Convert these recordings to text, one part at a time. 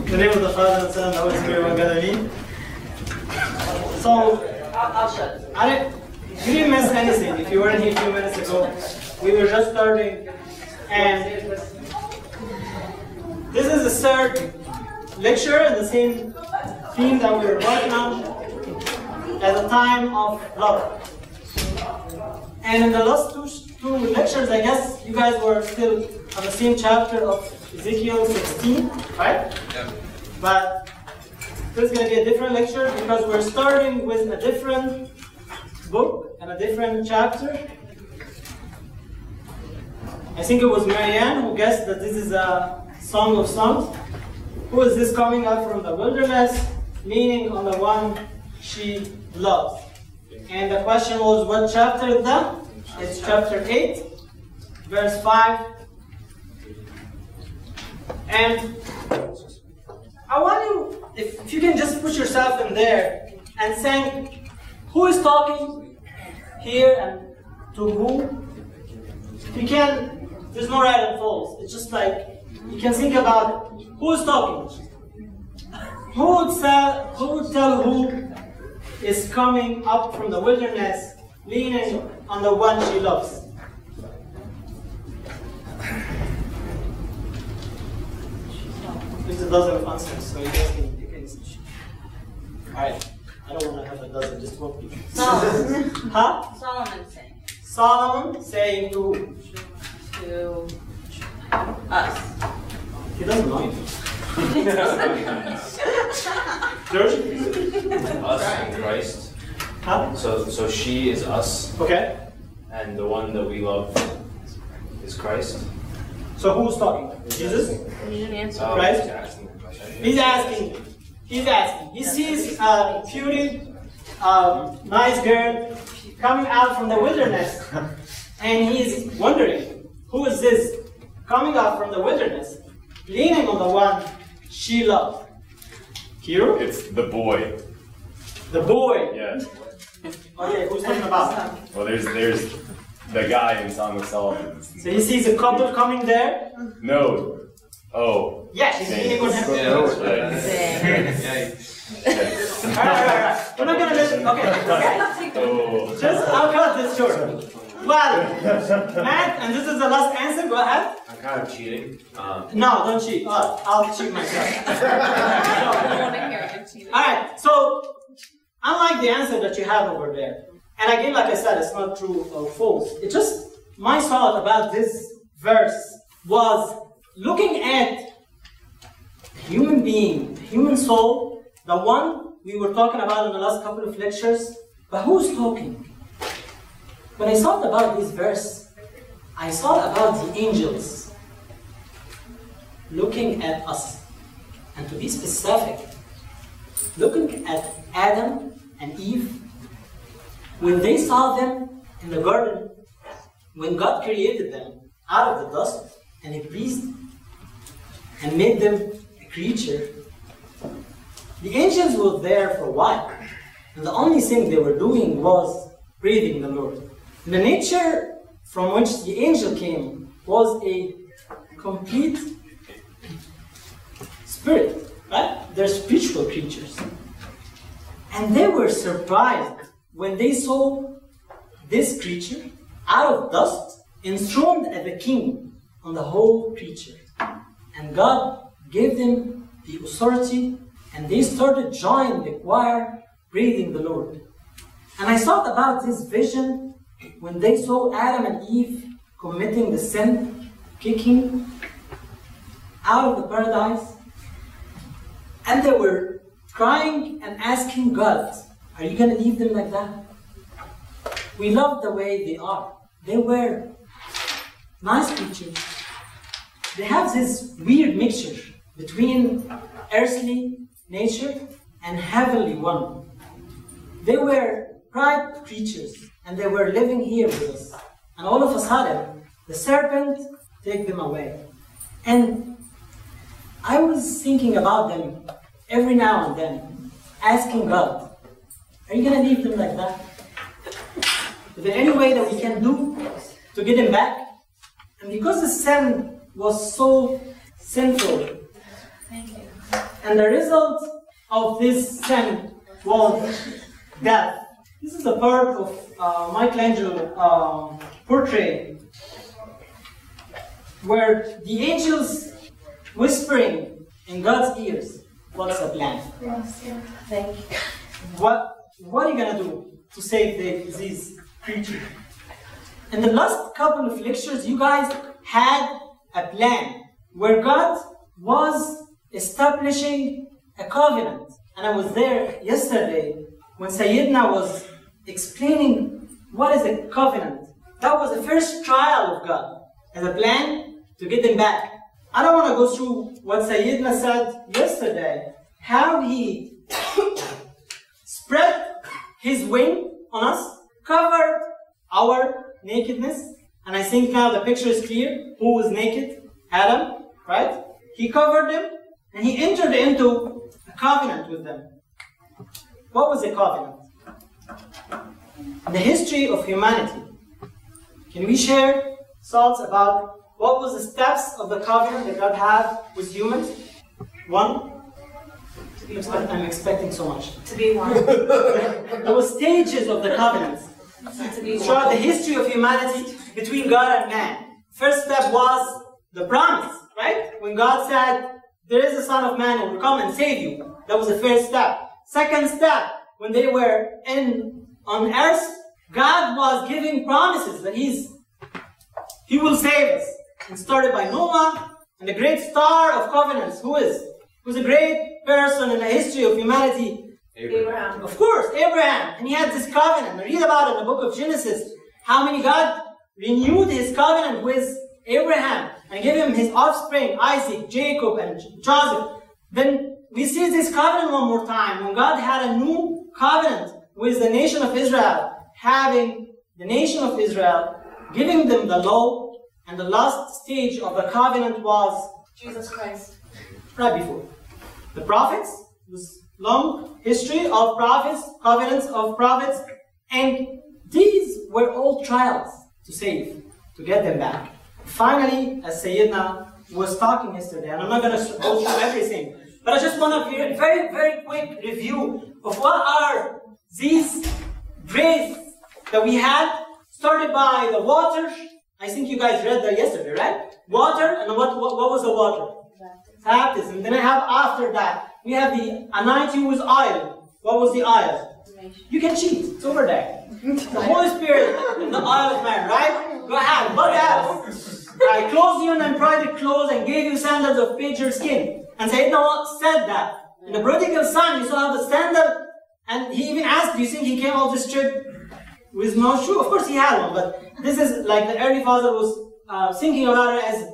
In the name of the Father, and Son, and the Holy Spirit, one God, amen. So, I'll shut. You didn't miss anything. If you weren't here a few minutes ago, we were just starting, and this is the third lecture in the same theme that we were working on at the time of love. And in the last two lectures, I guess you guys were still on the same chapter of Ezekiel 16, right? Yeah. But this is going to be a different lecture because we're starting with a different book and a different chapter. I think it was Marianne who guessed that this is a Song of Songs. Who is this coming up from the wilderness, leaning on the one she loves? And the question was, what chapter is that? It's chapter 8, verse 5. And I want you, if you can just put yourself in there and think, who is talking here and to who? If you can, there's no right and false. It's just like, you can think about it. Who is talking? Who would tell who is coming up from the wilderness, leaning on the one she loves? There's a dozen of answers, so you can. Alright, I don't want to have a dozen, just one people. Solomon. Huh? Solomon saying. Solomon saying to who? To us. He doesn't know you. George? Us and Christ. Huh? So she is us, Okay. and the one that we love is Christ. So who's talking? Jesus? You didn't answer. Christ? He's asking the question. He's asking. He sees a beauty, nice girl coming out from the wilderness, and he's wondering, who is this coming out from the wilderness, leaning on the one she loves? Kiro? It's the boy. The boy. Yeah. Okay, who's talking about? Well, there's the guy in Song of Solomon. So he sees a couple coming there. No. Oh. Yeah, he's leaning on him. Yeah, that's right. Yeah. Alright. We're not gonna listen. Okay. Oh. Just, I'll cut this short. Well, Matt, and this is the last answer. Go ahead. I'm kind of cheating. No, don't cheat. I'll cheat myself. I don't want to hear you cheating. Alright, so unlike the answer that you have over there, and again, like I said, it's not true or false. It's just my thought about this verse was looking at human being, human soul, the one we were talking about in the last couple of lectures, but who's talking? When I thought about this verse, I thought about the angels looking at us. And to be specific, looking at Adam and Eve, when they saw them in the garden, when God created them out of the dust, and He breathed and made them a creature, the angels were there for a while. And the only thing they were doing was breathing the Lord. The nature from which the angel came was a complete spirit, right? They're spiritual creatures. And they were surprised when they saw this creature out of dust, enthroned as a king on the whole creature. And God gave them the authority, and they started joining the choir, praising the Lord. And I thought about this vision when they saw Adam and Eve committing the sin, kicking out of the paradise, and they were crying and asking God, are you going to leave them like that? We love the way they are. They were nice creatures. They have this weird mixture between earthly nature and heavenly one. They were pride creatures, and they were living here with us. And all of a sudden, the serpent took them away. And I was thinking about them every now and then, asking God, are you going to leave them like that? Is there any way that we can do to get them back? And because the sin was so sinful, Thank you. And the result of this sin was death. This is a part of Michelangelo portrait where the angels whispering in God's ears, what's the plan? Thank you. What are you going to do to save these creatures? In the last couple of lectures, you guys had a plan where God was establishing a covenant. And I was there yesterday when Sayyidina was explaining what is a covenant. That was the first trial of God as a plan to get them back. I don't want to go through what Sayyidina said yesterday, how he spread his wing on us, covered our nakedness, and I think now the picture is clear. Who was naked? Adam, right? He covered them, and he entered into a covenant with them. What was a covenant? The history of humanity. Can we share thoughts about what was the steps of the covenant that God had with humans? One? I'm expecting so much. To be one. There were stages of the covenants throughout the history of humanity between God and man. First step was the promise, right? When God said, there is a Son of Man who will come and save you. That was the first step. Second step, when they were on earth, God was giving promises that He will save us. And started by Noah, and the great star of covenants, who's a great person in the history of humanity? Abraham. Of course, Abraham. And he had this covenant. We read about it in the book of Genesis, how many God renewed his covenant with Abraham and gave him his offspring, Isaac, Jacob, and Joseph. Then we see this covenant one more time, when God had a new covenant with the nation of Israel, having the nation of Israel, giving them the law, and the last stage of the covenant was Jesus Christ. Right before. The prophets, this long history of prophets, covenants of prophets, and these were all trials to save, to get them back. Finally, as Sayyidina was talking yesterday, and I'm not going to go through everything, but I just want to give a very, very quick review of what are these grace that we had, started by the water. I think you guys read that yesterday, right? Water, and what was the water? Baptism. Then I have after that, we have the anointing with oil. What was the oil? You can cheat. It's over there. The Holy Spirit and the oil of man, right? Go ahead. What else? I clothed you in embroidered clothes and gave you sandals of painted skin. And Sayyidina said that. In the prodigal son, you saw the sandal, and he even asked, do you think he came off this trip with no shoe? Of course he had one, but this is like the early father was thinking about it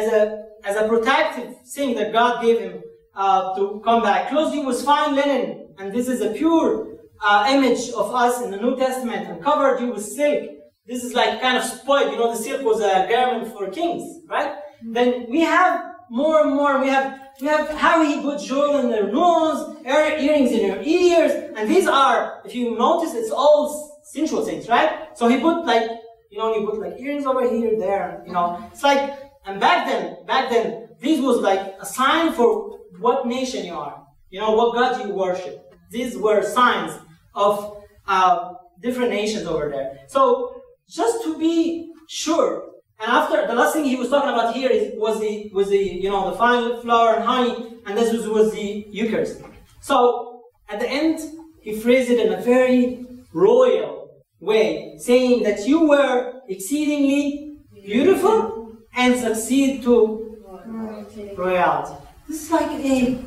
as a protective thing that God gave him to come back. Clothed you with fine linen, and this is a pure image of us in the New Testament, and covered you with silk. This is like kind of spoiled. You know, the silk was a garment for kings, right? Then we have more and more. We have how he put jewel in their nose, earrings in your ears, and these are, if you notice, it's all sensual things, right? So he put like, you put like earrings over here, there, It's like, and back then, this was like a sign for what nation you are, what God you worship. These were signs of different nations over there. So just to be sure. And after, the last thing he was talking about here was the fine flour and honey, and this was the Eucharist. So at the end, he phrased it in a very royal way, saying that you were exceedingly beautiful and succeed to royalty. This is like a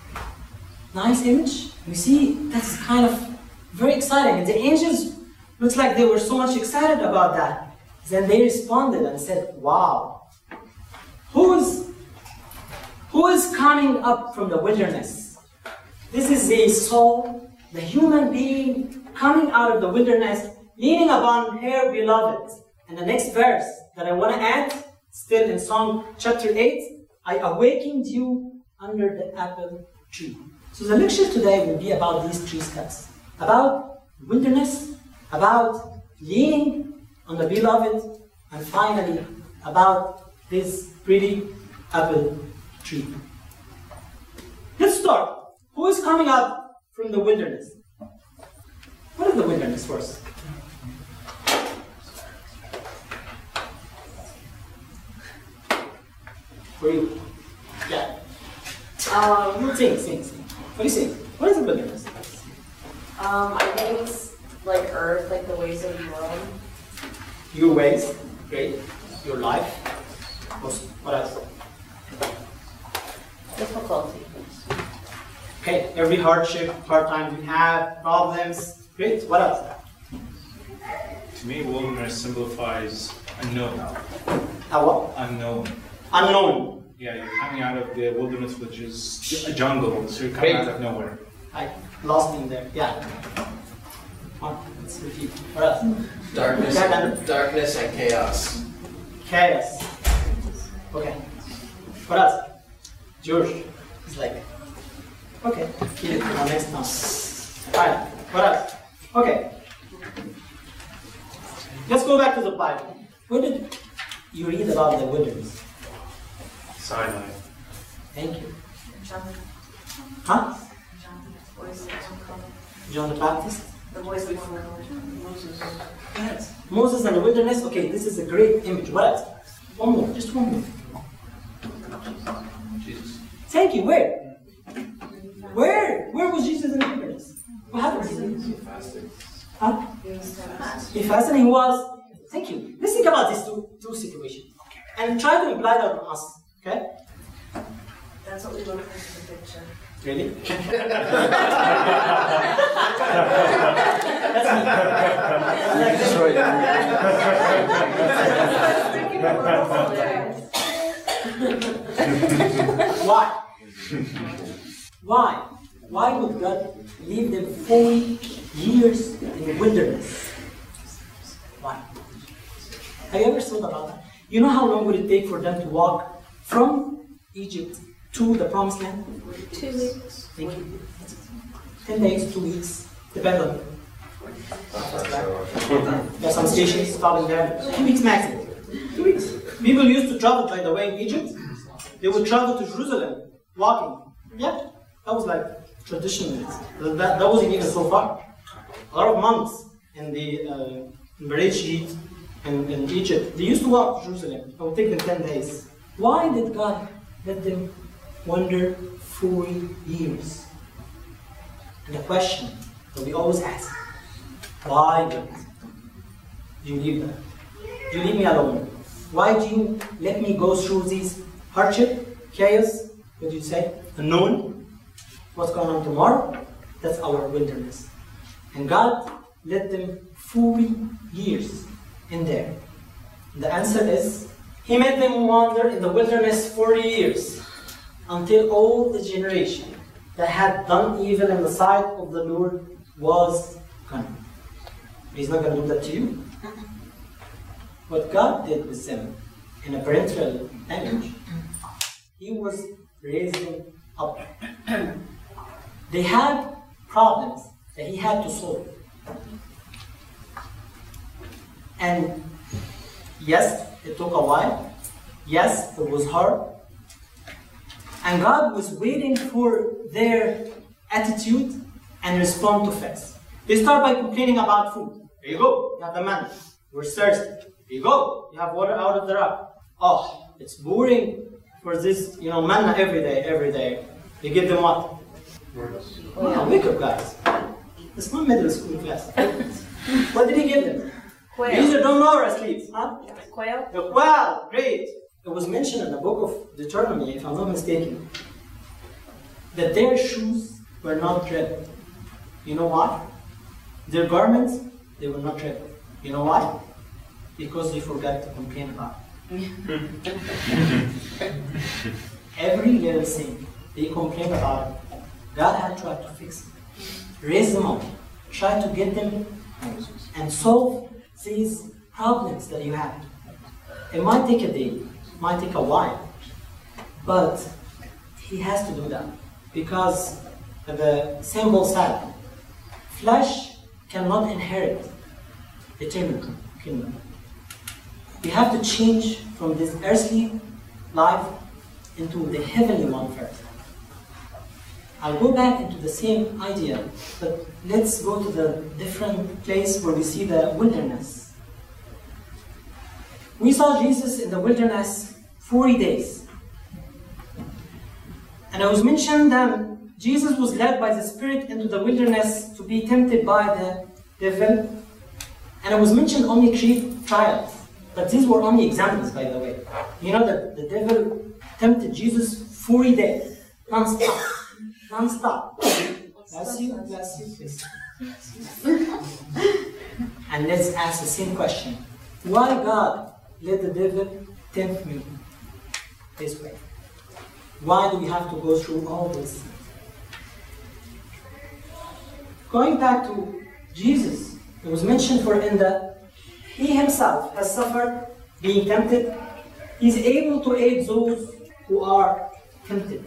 nice image. You see, that's kind of very exciting. And the angels looks like they were so much excited about that. Then they responded and said, wow, who is coming up from the wilderness? This is the soul, the human being coming out of the wilderness, leaning upon her beloved. And the next verse that I want to add, still in Psalm chapter 8, I awakened you under the apple tree. So the lecture today will be about these 3 steps. About wilderness, about leaning on the beloved, and finally about this pretty apple tree. Let's start. Who is coming out from the wilderness? What is the wilderness first? For you. Yeah. Sing. What do you think? What is the wilderness? I think it's like earth, like the ways of the world. Your ways, great. Your life. What else? Difficulty. Okay, every hardship, hard times we have, problems. Great. What else? To me, wilderness signifies unknown. What? Unknown. Unknown. Yeah, you're coming out of the wilderness, which is a jungle, so you're coming out of nowhere. I lost in there. Yeah. Let's repeat. What else? Darkness and chaos. Chaos. Okay. What else? George is like, okay, keep it for next time. Fine. What else? Okay. Let's go back to the Bible. Where did you read about the wilderness? Sinai. Thank you. John. Huh? Voice of John the Baptist? the voice of Moses. Yes. Moses and the wilderness. Okay, this is a great image. What else? One more. Just one more. Jesus. Thank you. Where? Where was Jesus in the wilderness? What happened? He fasted. Huh? He was fast. He fasted and he was. Thank you. Let's think about these two situations. And try to imply that on us. Okay? That's what we look for in the picture. Really? Why? Why? Why would God leave them 40 years in the wilderness? Why? Have you ever thought about that? You know how long would it take for them to walk from Egypt to the promised land? 2 weeks. Thank you. 10 days, 2 weeks, depends on. There are some stations stopping there. 2 weeks maximum. 2 weeks. People used to travel, by the way, in Egypt. They would travel to Jerusalem, walking. Yeah, that was like traditional. That wasn't even so far. A lot of monks in the Bereshit in Egypt, they used to walk to Jerusalem. It would take them 10 days. Why did God let them wander 40 years? And the question that we always ask, why God? Do you leave that? Do you leave me alone? Why do you let me go through these hardship, chaos, what do you say? Unknown? What's going on tomorrow? That's our wilderness. And God let them 40 years in there. The answer is, He made them wander in the wilderness 40 years until all the generation that had done evil in the sight of the Lord was gone. He's not going to do that to you. What God did with them in a parental image, He was raising up. They had problems that He had to solve. And yes, it took a while. Yes, it was hard. And God was waiting for their attitude and respond to facts. They start by complaining about food. Here you go, you have the manna. We're thirsty. Here you go, you have water out of the rock. Oh, it's boring for this, manna every day. You give them what? Yeah, wake up, guys. It's not middle school class. What did He give them? Quail. These don't know or asleep. Huh? Quail? The quail, great. It was mentioned in the book of Deuteronomy, if I'm not mistaken, that their shoes were not red. You know why? Their garments, they were not red. You know why? Because they forgot to complain about it. Every little thing they complained about it, God had tried to fix it. Raise them up. Try to get them and solve these problems that you have. It might take a day, it might take a while, but He has to do that because the symbol said, flesh cannot inherit eternal kingdom. We have to change from this earthly life into the heavenly one first. I'll go back into the same idea, but let's go to the different place where we see the wilderness. We saw Jesus in the wilderness 40 days. And it was mentioned that Jesus was led by the Spirit into the wilderness to be tempted by the devil. And it was mentioned only 3 trials. But these were only examples, by the way. You know that the devil tempted Jesus 40 days, non-stop. Non-stop. Bless you, please. And let's ask the same question. Why God let the devil tempt me this way? Why do we have to go through all this? Going back to Jesus, it was mentioned he himself has suffered being tempted. He's able to aid those who are tempted.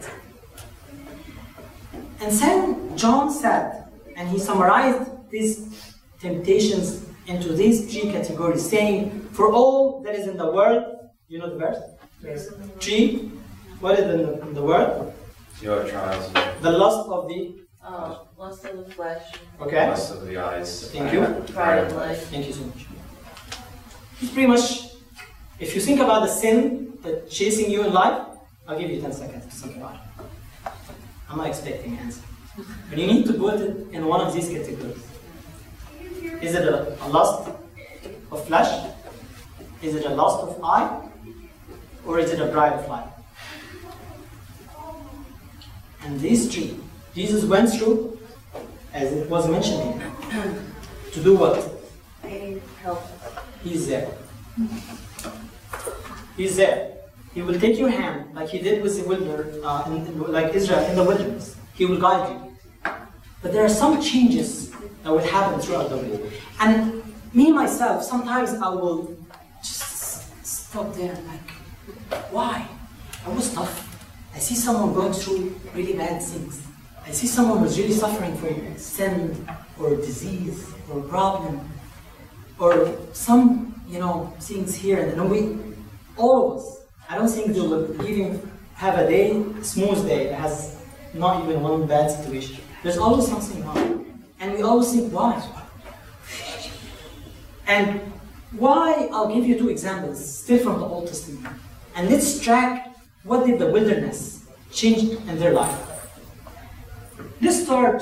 And St. John said, and he summarized these temptations into these 3 categories, saying, for all that is in the world, you know the verse? Yes. 3, what is in the world? Your trials. The lust of the... lust of the flesh. Okay. Lust of the eyes. Thank you. Pride of life. Thank you so much. It's pretty much, if you think about the sin that's chasing you in life, I'll give you 10 seconds to think about it. I'm not expecting an answer. But you need to put it in one of these categories. Is it a lust of flesh? Is it a lust of eye? Or is it a pride of life? And these 3, Jesus went through, as it was mentioned here, to do what? Help. He's there. He's there. He will take your hand like he did with the wilderness, like Israel in the wilderness. He will guide you. But there are some changes that will happen throughout the way. And me, myself, sometimes I will just stop there like, why? I was tough. I see someone going through really bad things. I see someone who's really suffering from sin or disease or problem or some, things here. And all of us, I don't think they will even have a smooth day that has not even one bad situation. There's always something wrong. And we always think, why? And why, I'll give you 2 examples, still from the Old Testament. And let's track what did the wilderness change in their life. Let's start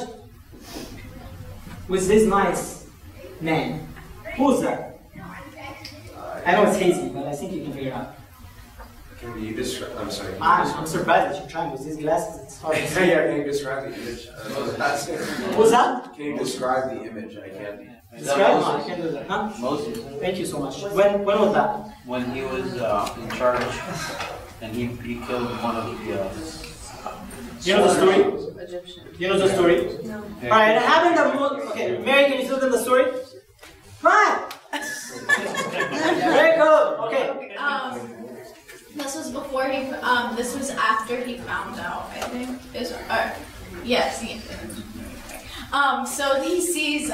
with this nice man. Who's that? I know it's hazy, but I think you can figure it out. Can you describe? I'm sorry. I'm surprised that you're trying with these glasses. It's hard to see. Yeah, can you describe the image? What's that? Can you describe the image? I can't. Describe? No, I can't do that. Huh? Moses. Thank you so much. When was that? When he was in charge, and he killed one of the. You know the story? Egyptian. You know the story? No. Alright, it happened that okay, Mary, can you tell them the story? Come on! Very good. Okay. This was before he. This was after he found out. I think. Yes. So he sees.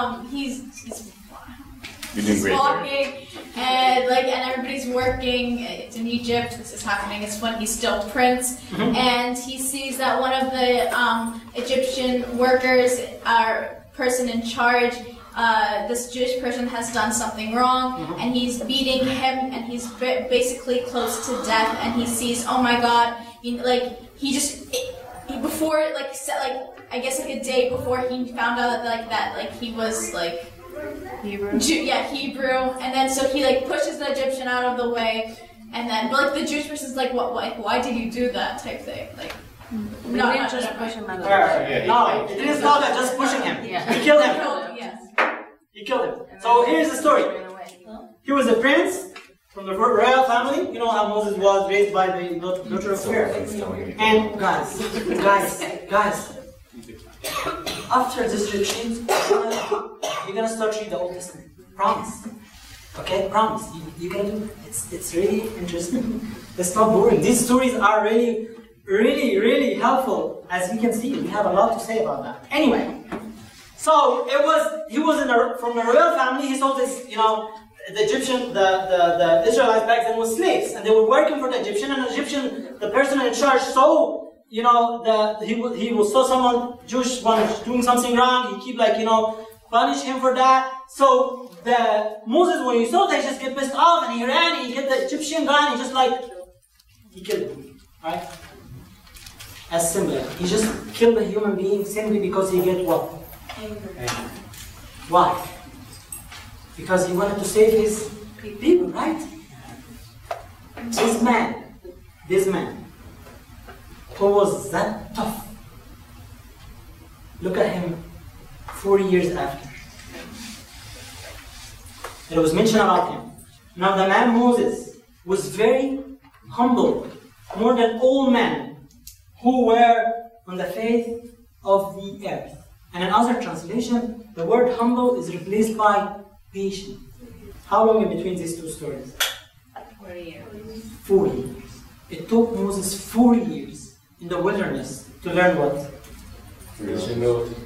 He's walking, and everybody's working. It's in Egypt. This is happening. It's when he's still prince, and he sees that one of the Egyptian workers, person in charge. This Jewish person has done something wrong, and he's beating him, and he's basically close to death. And he sees, oh my God, before I guess a day before he found out that he was Hebrew. Hebrew, and then so he pushes the Egyptian out of the way, and then the Jewish person's why did you do that type thing We didn't just push him out of the way. No, it didn't stop at just pushing him. Yeah. He killed him. Yes. He killed him. So here's the story. He was a prince from the royal family. You know how Moses was raised by the daughter of Pharaoh. And guys, after this retreat, you're gonna start reading the Old Testament. Promise. Okay, promise. You're gonna do it. It's really interesting. It's not boring. These stories are really, really, really helpful. As you can see, we have a lot to say about that. Anyway, so he was from the royal family. He saw this, the Egyptian, the Israelites back then was slaves, and they were working for the Egyptian. And the person in charge saw he will saw someone, Jewish one doing something wrong, he keep punish him for that. So Moses, when he saw that, he just get pissed off and he ran, he hit the Egyptian guy and he killed him, right? As simple. He just killed a human being simply because he get what? Anger. Why? Because he wanted to save his people, right? This man, who was that tough, look at him 4 years after. It was mentioned about him. Now the man Moses was very humble, more than all men who were on the face of the earth. And in other translation, the word humble is replaced by patient. How long in between these two stories? 40 years. 4 years. It took Moses 4 years in the wilderness to learn what? Humility.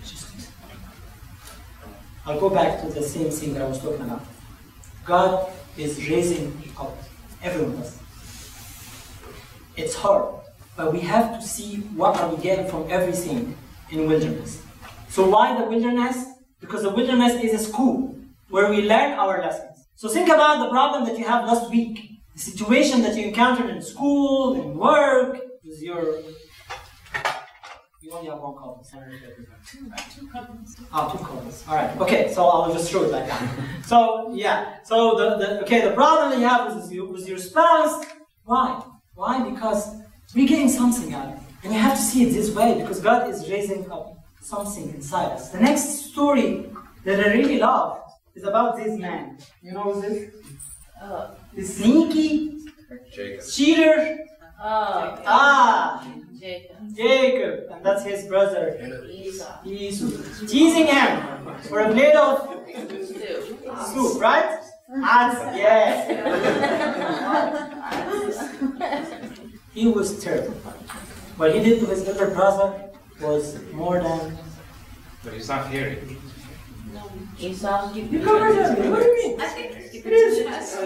I'll go back to the same thing that I was talking about. God is raising up every one of us. It's hard, but we have to see what are we getting from everything in wilderness. So why the wilderness? Because the wilderness is a school where we learn our lessons. So think about the problem that you have last week. The situation that you encountered in school, in work, with your... You only have one call. Two columns. Oh, 2 columns. All right. Okay, so I'll just throw it like that. So, yeah. So, the problem that you have with your spouse, why? Why? Because we're getting something out of it. And you have to see it this way, because God is raising up something inside us. The next story that I really love is about this man. You know who's this? The sneaky cheater. Jacob. And that's his brother Esau. Teasing him for a plate of soup, right? Yes. He was terrible. What he did to his elder brother was more than... But he's not hearing. Esau. You covered it. What do you mean? I think It is.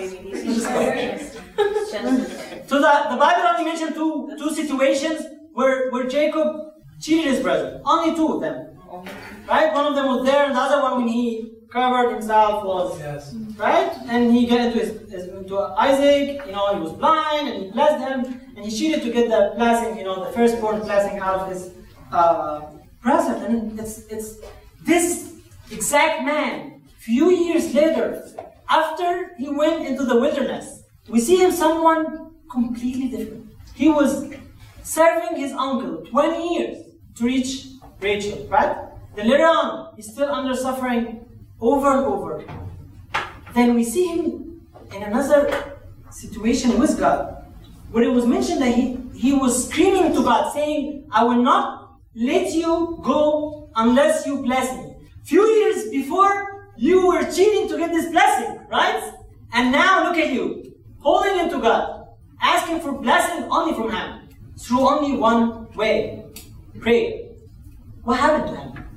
So the Bible only mentioned two situations where Jacob cheated his brother. Only 2 of them. Right? One of them was there, and the other one when he covered himself was... Yes. Right? And he got into Isaac, he was blind, and he blessed him, and he cheated to get the blessing, the firstborn blessing out of his present. And it's this exact man, few years later, after he went into the wilderness, we see him someone completely different. He was serving his uncle 20 years to reach Rachel, right? Then later on, he's still under suffering over and over. Then we see him in another situation with God, where it was mentioned that he was screaming to God, saying, I will not let you go unless you bless me. Few years before, you were cheating to get this blessing, right? And now look at you, holding into God, asking for blessing only from Him, through only one way, prayer. What happened to him?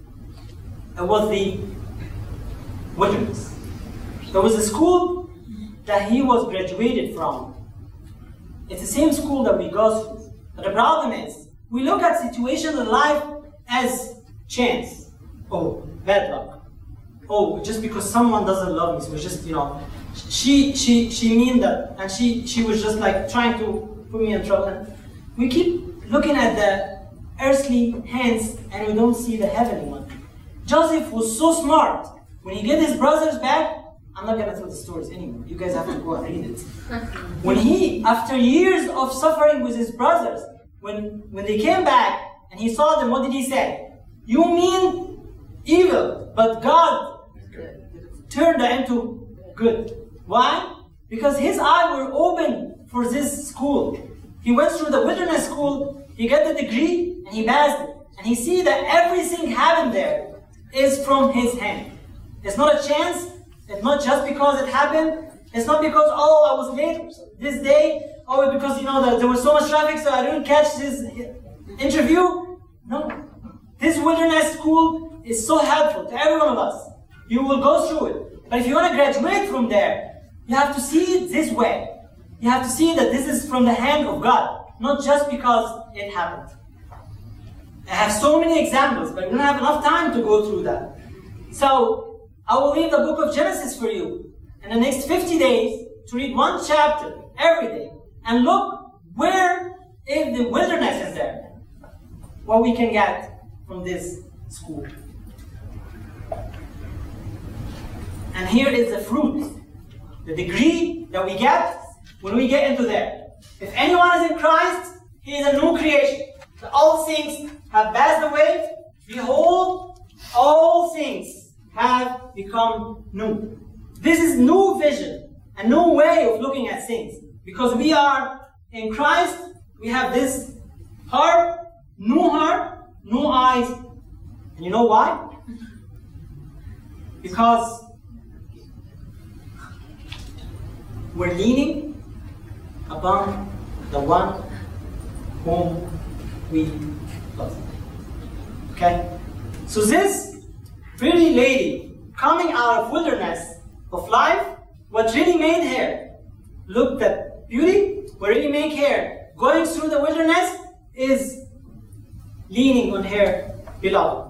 It was the wilderness. There was a school that he was graduated from. It's the same school that we go through. But the problem is, we look at situations in life as chance. Oh, bad luck. Oh, just because someone doesn't love me, so it's just, she mean that, and she was just like trying to put me in trouble. And we keep looking at the earthly hands and we don't see the heavenly one. Joseph was so smart. When he get his brothers back, I'm not going to tell the stories anymore. You guys have to go and read it. When he, after years of suffering with his brothers, when they came back and he saw them, what did he say? You mean evil, but God turned that into good. Why? Because his eyes were open for this school. He went through the wilderness school, he got the degree, and he passed it. And he see that everything happened there is from his hand. It's not a chance. It's not just because it happened. It's not because, I was late this day. Oh, because, there was so much traffic, so I didn't catch this interview. No. This wilderness school is so helpful to every one of us. You will go through it. But if you want to graduate from there, you have to see it this way. You have to see that this is from the hand of God. not just because it happened. I have so many examples, but we don't have enough time to go through that. So, I will leave the book of Genesis for you in the next 50 days to read one chapter every day and look where is the wilderness is there. What we can get from this school. And here is the fruit, the degree that we get when we get into there. If anyone is in Christ, he is a new creation. The old things have passed away. Behold, all things have become new. This is new vision, a new way of looking at things. Because we are in Christ, we have this heart, new eyes. And you know why? Because we're leaning upon the one whom we love. Okay? So this pretty lady coming out of wilderness of life, what really made her look at beauty, what really made her going through the wilderness is leaning on her beloved.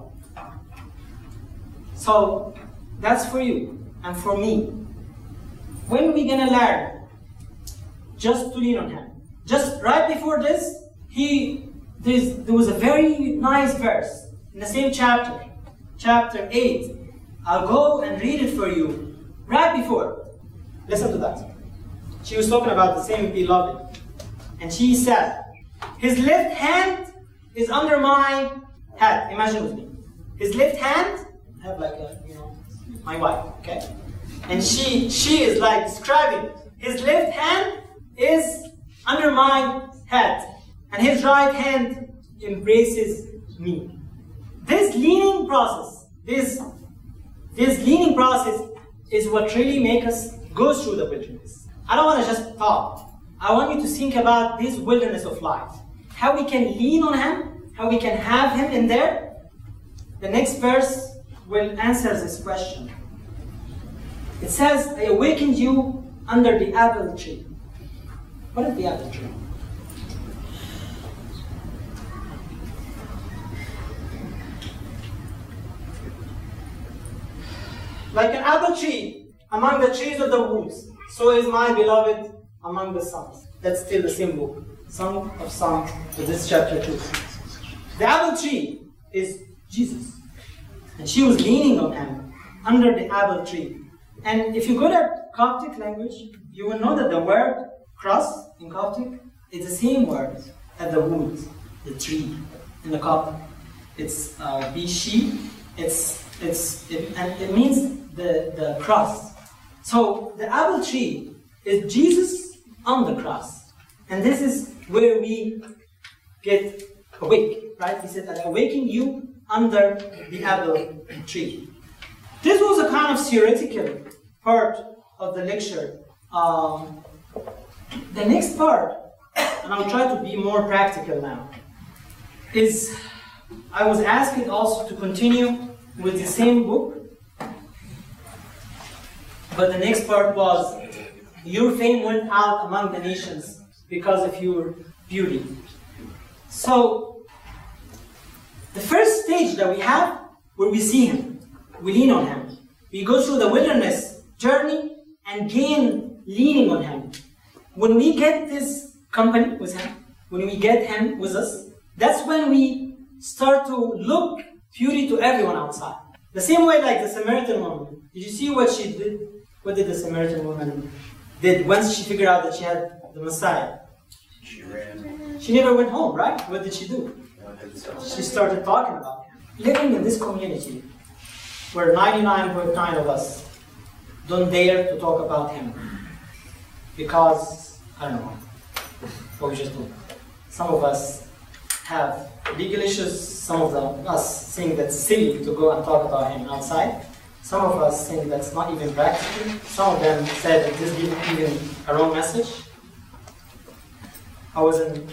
So that's for you and for me. When are we gonna learn just to lean on him? Just right before this, there was a very nice verse in the same chapter, chapter 8. I'll go and read it for you right before. Listen to that. She was talking about the same beloved. And she said, his left hand is under my head. Imagine with me. His left hand, I have like a, my wife, okay? And she is like describing, his left hand is under my head, and his right hand embraces me. This leaning process, this leaning process is what really makes us go through the wilderness. I don't want to just talk. I want you to think about this wilderness of life. How we can lean on him, how we can have him in there. The next verse will answer this question. It says, I awakened you under the apple tree. What is the apple tree? Like an apple tree among the trees of the woods, so is my beloved among the sons. That's still the same book. Song of Songs, this is chapter 2. The apple tree is Jesus. And she was leaning on him under the apple tree. And if you go to Coptic language, you will know that the word cross in Coptic is the same word as the wood, the tree in the Coptic. It's bishi. It means the cross. So the apple tree is Jesus on the cross, and this is where we get awake, right? He said, "I awaken you under the apple tree." This was a kind of theoretical part of the lecture. The next part, and I'll try to be more practical now, is I was asked also to continue with the same book, but the next part was, your fame went out among the nations because of your beauty. So, the first stage that we have, where we see him, we lean on him. We go through the wilderness journey and gain leaning on him. When we get this company with him, when we get him with us, that's when we start to look beauty to everyone outside. The same way like the Samaritan woman. Did you see what she did? What did the Samaritan woman did once she figured out that she had the Messiah? She ran. She never went home, right? What did she do? She started talking about him. Living in this community where 99.9 of us don't dare to talk about him because, I don't know, what we just do. Some of us have legal issues, some of us think that's silly to go and talk about him outside. Some of us think that's not even practical. Some of them said that this gives even a wrong message. I was in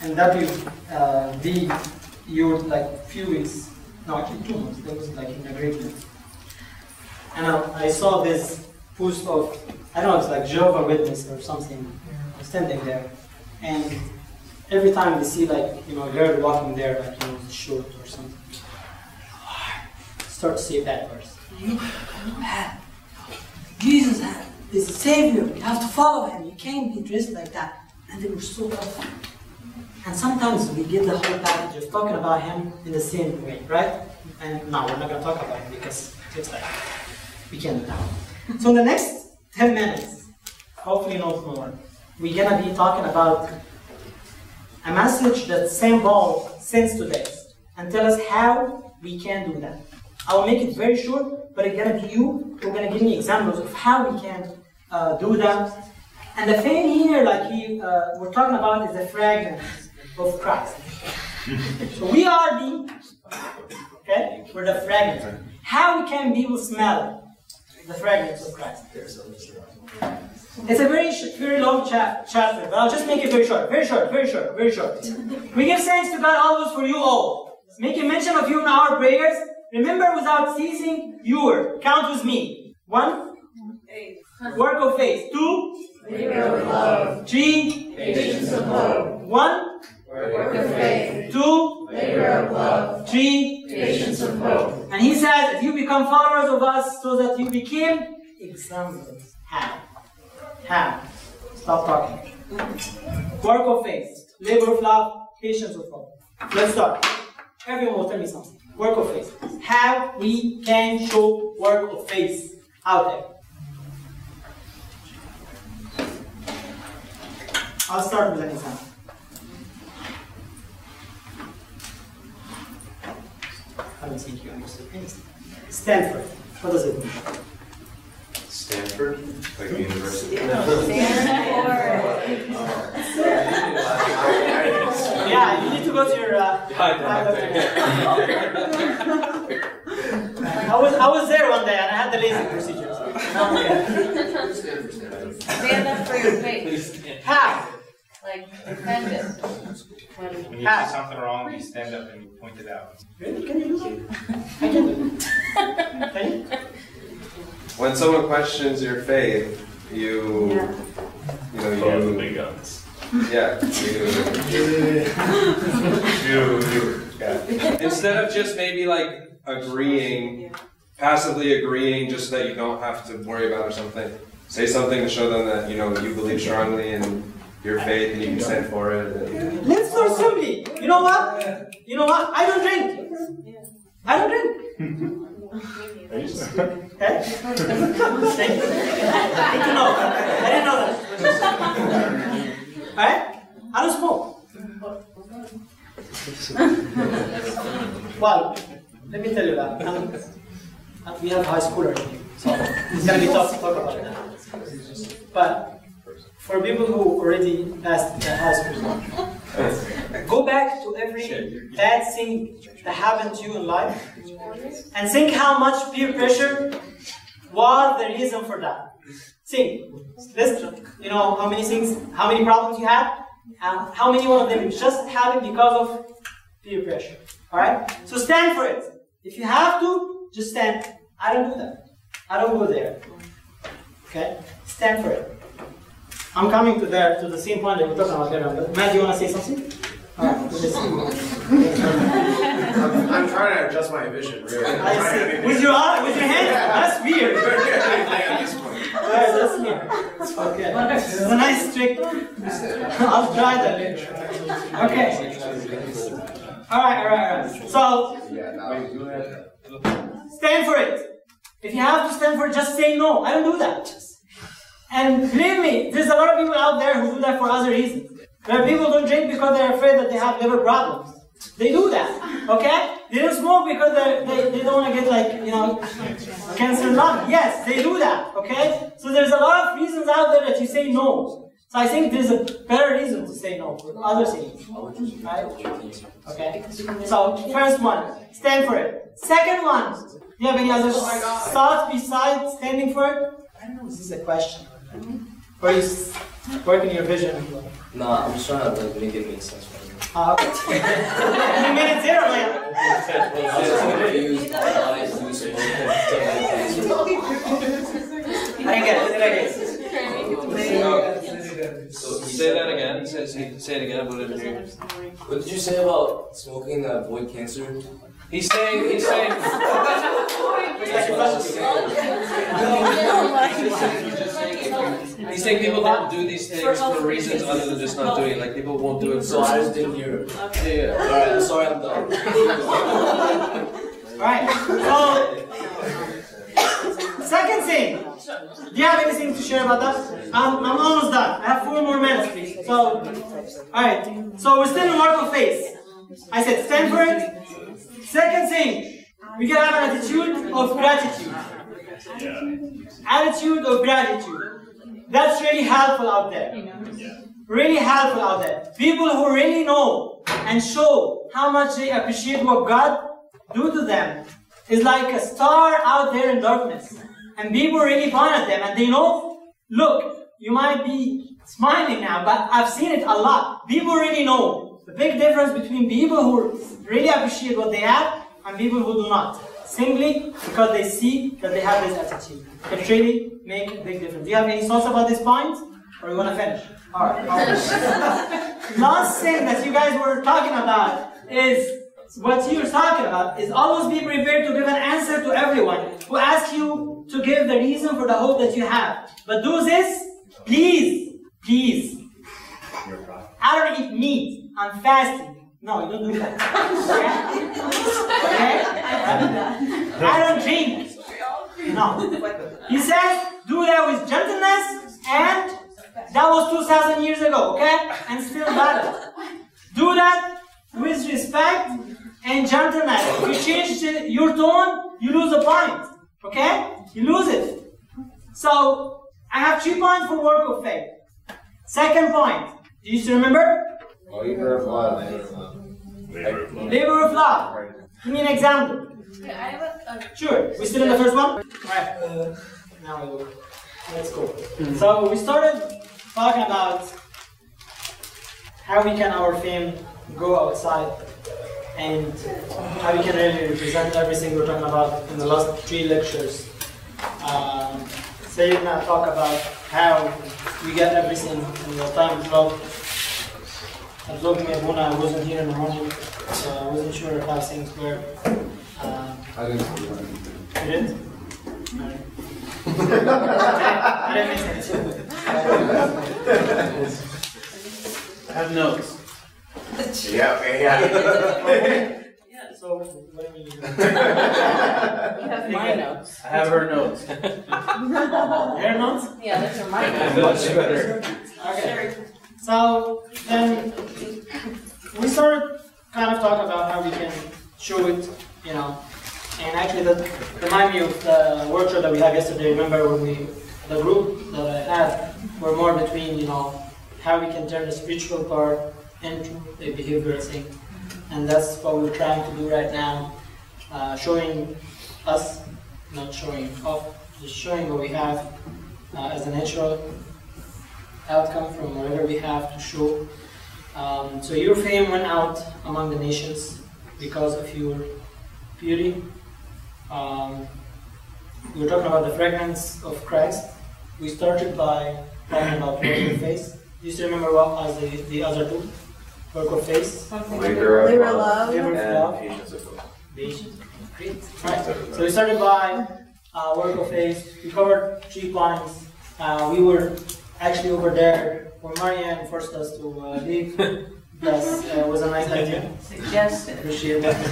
WD like few weeks, no actually 2 months, that was like in agreement. And I saw this post of, I don't know, it's like Jehovah's Witness or something, standing there. And every time they see like, you know, a girl walking there, like, you know, short or something, start to say bad words. You have Jesus is a savior. You have to follow him. You can't be dressed like that. And they were so tough. And sometimes we get the whole package of talking about him in the same way, right? And no, we're not going to talk about him because it's like we can't do that. So in the next 10 minutes, hopefully not more, we're going to be talking about a message that St. Paul sends to us and tell us how we can do that. I will make it very short, but it's going to be you who are going to give me examples of how we can do that. And the thing here, like we're talking about, is the fragrance of Christ. So we are we're the fragrance. How can people smell the fragrance of Christ? It's a very long chapter, but I'll just make it very short. Very short. We give thanks to God always for you all, making mention of you in our prayers. Remember without ceasing your, count with me. 1, work of faith. 2, labor of love. 3, Patience of hope. 1, Work of faith. 2, Labor of love. 3, Patience of hope. and he says that you become followers of us so that you became examples. How? Stop talking. Work of faith, labor of love, patience of hope. Let's start. Everyone will tell me something. Work of faith. How we can show work of faith out there. I'll start with an example. I don't think you understood anything. Stanford. What does it mean? Stanford? Like the university? Yeah, you need to go to your. I was there one day and I had the LASIK procedure. Stand up for your faith. How? Like, defend it. When you see something wrong, you stand up and you point it out. Really? Can you do that? I can do it. Can you? When someone questions your faith, you Follow the know, big guns. instead of just maybe like agreeing, passively agreeing, just so that you don't have to worry about or something. Say something to show them that you believe strongly in your faith and you can stand for it. Let's start simply. You know what? I don't drink. Okay? Thank you. Good to know. I didn't know that. Alright? I don't smoke. Well, let me tell you that. We have high schoolers here, so it's going to be tough to talk about that. But for people who already passed the high school, go back to every bad thing that happened to you in life and think how much peer pressure was the reason for that. Think. List, how many things, how many problems you had, and how many one of them just happened because of peer pressure. Alright? So stand for it. If you have to, just stand. I don't do that. I don't go there. Okay? Stand for it. I'm coming to the same point that we're talking about there. But Matt, do you want to say something? Alright, I'm trying to adjust my vision, really. I see. With your hand? That's weird. Alright, that's weird. Okay. It's a nice trick. I'll try that later. Okay. Alright. So, stand for it. If you have to stand for it, just say no. I don't do that. And believe me, there's a lot of people out there who do that for other reasons. There are people who don't drink because they're afraid that they have liver problems. They do that, okay? They don't smoke because they don't want to get cancer in lung. Yes, they do that, okay? So there's a lot of reasons out there that you say no. So I think there's a better reason to say no for other things, right? Okay? So first one, stand for it. Second one, do you have any other thoughts besides standing for it? I don't know, is this a question? Or you work in your vision? No, I'm just trying to make it make sense for me. You made it zero, man. I didn't get it. So say that again. Say say it again, I didn't hear you. What did you say about smoking that avoid cancer? He's saying, he's saying people don't do these things for reasons other than just not doing it. Like people won't do it. So I just didn't hear it. Yeah. Alright, I'm sorry, I'm done. Alright, so second thing. Do you have anything to share about that? I'm almost done. I have 4 more minutes, please. So, alright. So we're still in work of faith. I said stand for it. Second thing, we can have an attitude of gratitude. Attitude of gratitude. That's really helpful out there. Really helpful out there. People who really know and show how much they appreciate what God do to them is like a star out there in darkness. And people really point at them and they know, look, you might be smiling now, but I've seen it a lot. People really know the big difference between people who really appreciate what they have and people who do not. Simply because they see that they have this attitude. It really makes a big difference. Do you have any thoughts about this point? Or you want to finish? Alright. Last thing that you guys were talking about is what you're talking about is always be prepared to give an answer to everyone who asks you to give the reason for the hope that you have. But do this, please. I don't eat meat. I'm fasting. No, you don't do that. Okay? I don't drink. No. He says, do that with gentleness, and that was 2,000 years ago, okay? And still valid. Do that with respect and gentleness. If you change your tone, you lose a point. Okay? You lose it. So, I have 3 points for work of faith. Second point. Do you still remember? Labor of love. Labor of love. Give me an example. Sure. We still in the first one? Alright. Now we look. Let's go. So we started talking about how we can our fame go outside and how we can really represent everything we're talking about in the last 3 lectures. So you're gonna talk about how we get everything in the time slot. Absorbing Abuna, I wasn't here in the morning, so I wasn't sure how things were. I didn't. You didn't? Alright. I didn't miss anything. I have notes. Yeah. So, what do you mean? You have my notes. I have her notes. Your notes? Yeah, those are my notes. Much better. Okay. So, then we started kind of talking about how we can show it, you know. And actually, that reminded me of the workshop that we had yesterday. Remember when the group that I had were more between, you know, how we can turn the spiritual part into a behavioral thing. And that's what we're trying to do right now. Showing us, not showing off, just showing what we have as a natural outcome from whatever we have to show. So your fame went out among the nations because of your beauty. We were talking about the fragrance of Christ. We started by talking about work of faith. Do you still remember what was the other two? Work of faith? Labor of love. Labor of love. Patience. Great. Right. So we started by work of faith. We covered 3 points. We were actually over there when Marianne forced us to leave. Yes, it was a nice idea. Suggested. Appreciate that.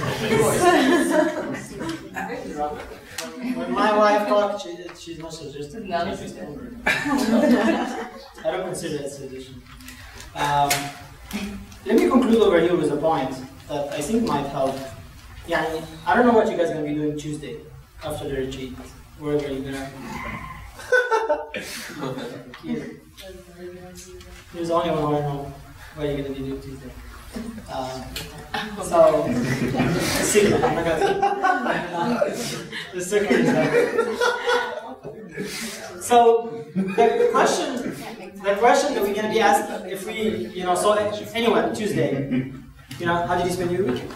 When my wife talks, she's not suggested. No. I don't consider it a suggestion. Let me conclude over here with a point that I think might help. I don't know what you guys are going to be doing Tuesday after the retreat. Wherever you're going to. There's only one who I know what you're going to be doing Tuesday. So, the secret, I'm not going to say. The secret is that. So, the question that we're going to be asked, if we, so anyway, Tuesday, how did you spend your week?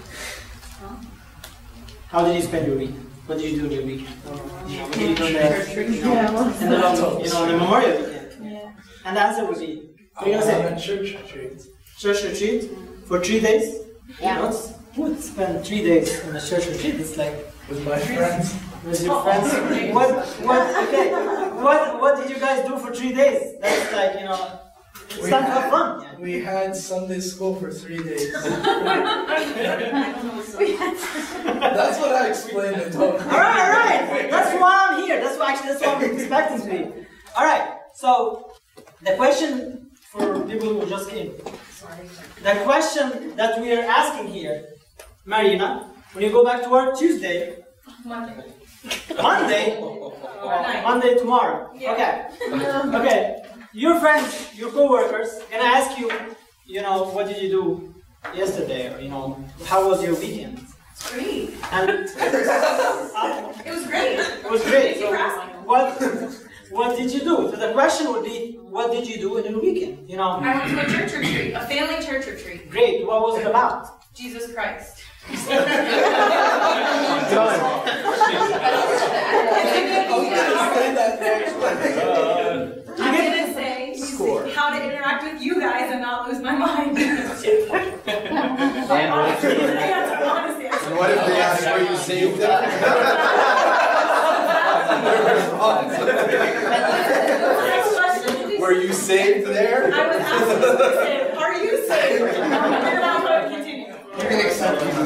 How did you spend your week? What did you do in your weekend? What did you do in the Memorial weekend? And the answer would be, What are you gonna say? A church retreat. Church retreat for 3 days? Yeah. Who would spend 3 days in a church retreat? It's like With my friends. with your friends. What did you guys do for 3 days? That's like, it's time to have fun. We had Sunday school for 3 days. That's what I explained it. Alright. That's why I'm here. That's why I'm expecting to be. Alright, so the question for people who just came. The question that we are asking here, Marina, when you go back to work Tuesday, Monday tomorrow. Okay. Your friends, your co-workers, gonna ask you, what did you do yesterday, or how was your weekend? It's great. And It was great. it was great. Thank you So for asking. what did you do? So the question would be, what did you do in your weekend? I went to a church retreat, a family church retreat. Great. What was it about? Jesus Christ. I'm gonna say how to interact with you guys and not lose my mind. And what if they ask where you saved them? Were you saved there? I was absolutely saved. Are you saved? You're not going to continue. You can accept Jesus.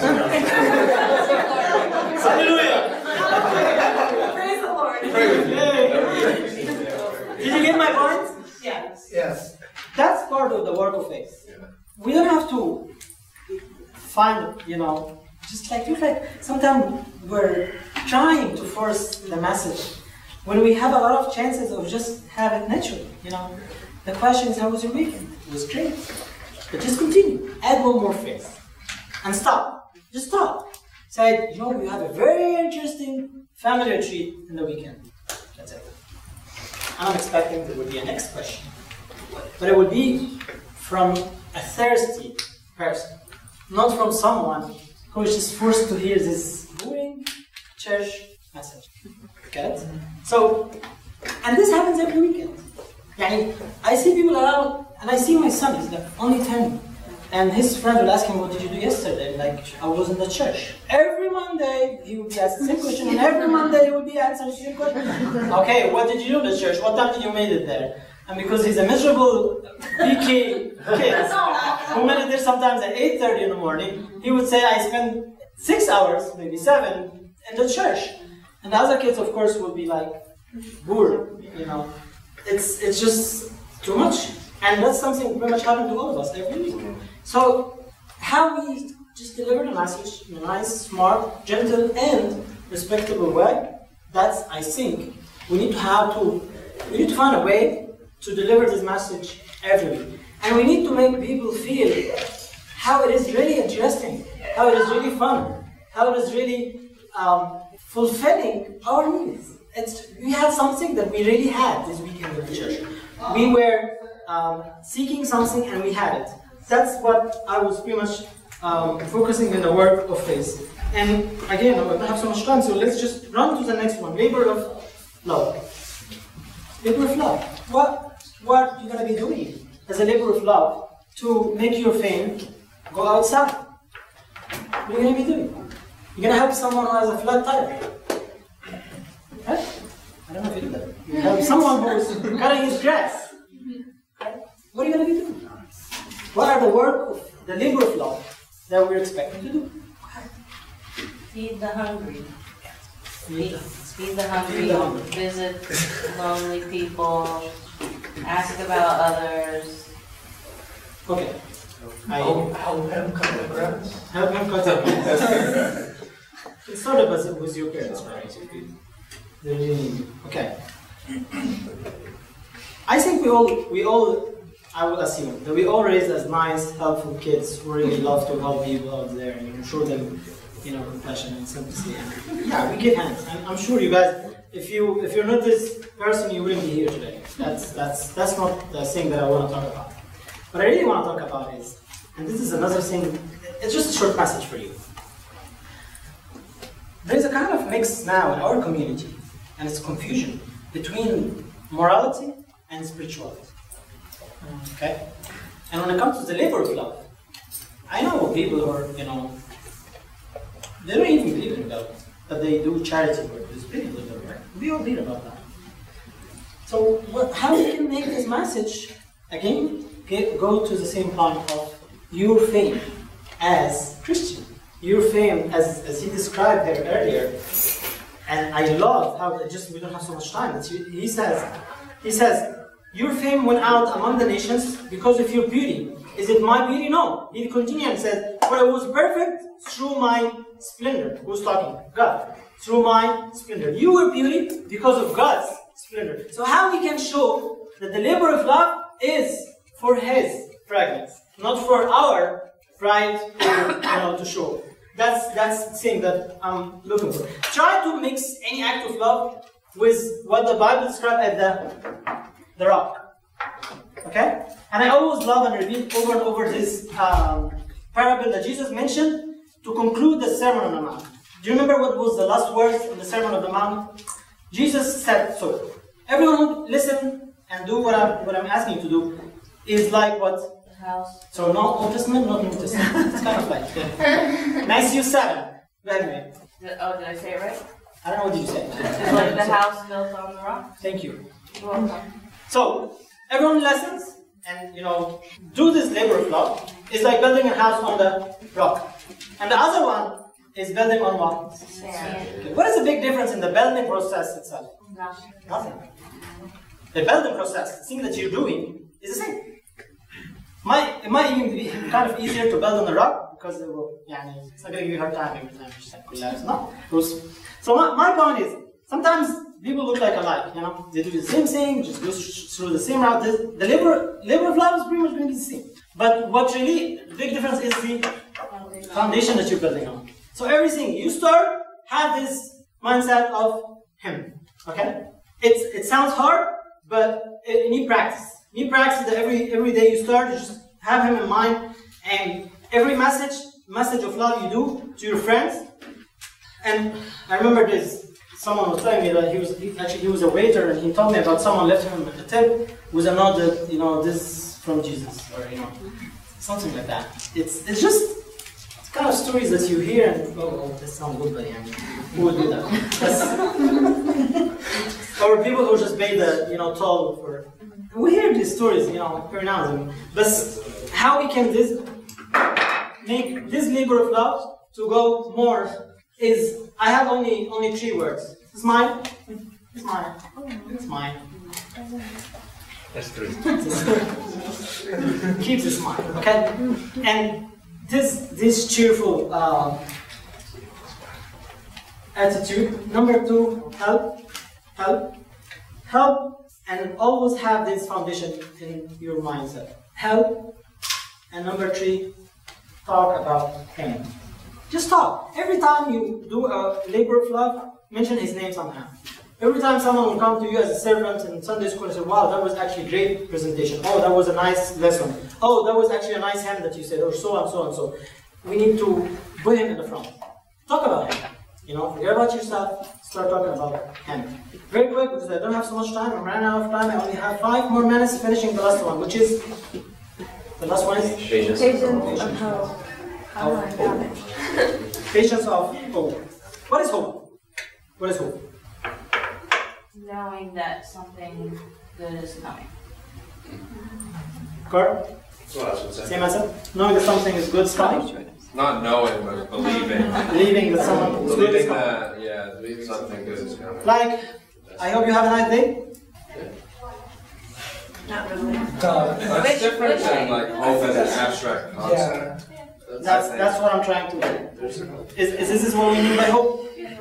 Hallelujah. Praise the Lord. Did you get my point? Yes. Yes. That's part of the work of faith. We don't have to find, just like sometimes we're trying to force the message when we have a lot of chances of just have it naturally. The question is, how was your weekend? It was great. But just continue. Add one more phrase. And stop. Just stop. Say, we have a very interesting family retreat in the weekend. That's it. I'm expecting there would be a next question. But it would be from a thirsty person, not from someone who is just forced to hear this boring church message. Get it? So, and this happens every weekend. I see people around, and I see my son, he's only 10. And his friend will ask him, what did you do yesterday? I was in the church. Every Monday, he would be asked the same question, and every Monday he would be answering the same question. Okay, what did you do in the church? What time did you make it there? And because he's a miserable PK kid, who made it there sometimes at 8:30 in the morning, he would say, I spent 6 hours, maybe 7, in the church. And the other kids, of course, would be like, bored, It's just too much. And that's something very much happened to all of us every week. So, how we just deliver the message in a nice, smart, gentle, and respectable way, that's, I think, we need to find a way to deliver this message every week. And we need to make people feel how it is really interesting, how it is really fun, how it is really fulfilling our needs. We had something that we really had this weekend in the church. We were seeking something and we had it. That's what I was pretty much focusing in the work of faith. And again, I don't have so much time, so let's just run to the next one. Labor of love. Labor of love. What are you going to be doing as a labor of love to make your fame go outside? What are you going to be doing? You're going to help someone who has a flat tire. Right? I don't know if you do that. You help someone who is cutting his grass. What are you going to be doing? What are the work of the labor of love that we're expected to do? Feed the hungry. Feed the hungry. Visit lonely people. Ask about others. Okay. Help him cut the grass. Help him cut the grass. It's sort of as it was your parents, right? Okay. I think we all, I would assume, that we all raised as nice, helpful kids who really love to help people out there and show them, compassion and sympathy. Yeah, we give hands. I'm sure you guys, if you're not this person, you wouldn't be here today. That's not the thing that I want to talk about. What I really want to talk about is, and this is another thing, it's just a short message for you. There's a kind of mix now in our community, and it's confusion between morality and spirituality. Okay? And when it comes to the labor of love, I know people who are, they don't even believe in God, but they do charity work. There's people in the work. We all read about that. So how we can make this message, again, go to the same point of your fame as Christian. Your fame, as he described here earlier, and I love how, we don't have so much time, he says, your fame went out among the nations because of your beauty. Is it my beauty? No. He continued and said, for I was perfect through my splendor. Who's talking? God. Through my splendor. You were beauty because of God's splendor. So how we can show that the labor of love is for His fragrance, not for our pride to show. That's the thing that I'm looking for. Try to mix any act of love with what the Bible describes as the rock. Okay? And I always love and repeat over and over this parable that Jesus mentioned to conclude the Sermon on the Mount. Do you remember what was the last words in the Sermon on the Mount? Jesus said, so, everyone who listen and do what I'm asking you to do is like what? The house. So not Old Testament, not New Testament. It's kind of like Matthew 7. Go ahead, Did I say it right? I don't know what did you say. It's like the house built on the rock. Thank you. You're welcome. So, everyone listens and, do this labor of love. It's like building a house on the rock. And the other one is building on what? Sand. Okay. What is the big difference in the building process itself? Nothing. The building process, the thing that you're doing, is the same. It might even be kind of easier to build on the rock because it will, it's not going to give you a hard time every time you collapse. No. So my point is, sometimes people look like alike, they do the same thing, just go through the same route. The labor of love is pretty much going to be the same. But what really, the big difference is the foundation that you're building on. So everything you start, have this mindset of Him, okay? It sounds hard, but you need practice. You need practice that every day you start, you just have Him in mind, and every message of love you do to your friends. And I remember this. Someone was telling me that he was a waiter, and he told me about someone left him a tip with a note that this is from Jesus, or something like that. It's kind of stories that you hear and this sounds good, but who would do that? Or people who just pay the toll for. We hear these stories every now and then. But how we can make this labor of love to go more is, I have only 3 words. It's mine. It's mine. It's mine. That's 3. Keep this mind, okay? And this cheerful attitude. Number 2, help, and always have this foundation in your mindset. Help, and number 3, talk about Him. Just talk. Every time you do a labor of love, mention His name somehow. Every time someone will come to you as a servant in Sunday school and say, wow, that was actually a great presentation. Oh, that was a nice lesson. Oh, that was actually a nice hymn that you said, or so and so and so. We need to put Him in the front. Talk about Him. Forget about yourself, start talking about Him. Very quick, because I don't have so much time, I'm running out of time. I only have 5 more minutes finishing the last one, which is, the last one is? Patience of hope. Patience of hope. What is hope? What is hope? Knowing that something good is coming. Carl? Same answer? Knowing that something is good is coming? Not knowing, but believing. Believing that something is good is Believing coming. that, something good is coming. Like, I hope you have a nice day. Not really. That's different than like hope as an abstract concept. That's what I'm trying to do. Is this what we mean by hope?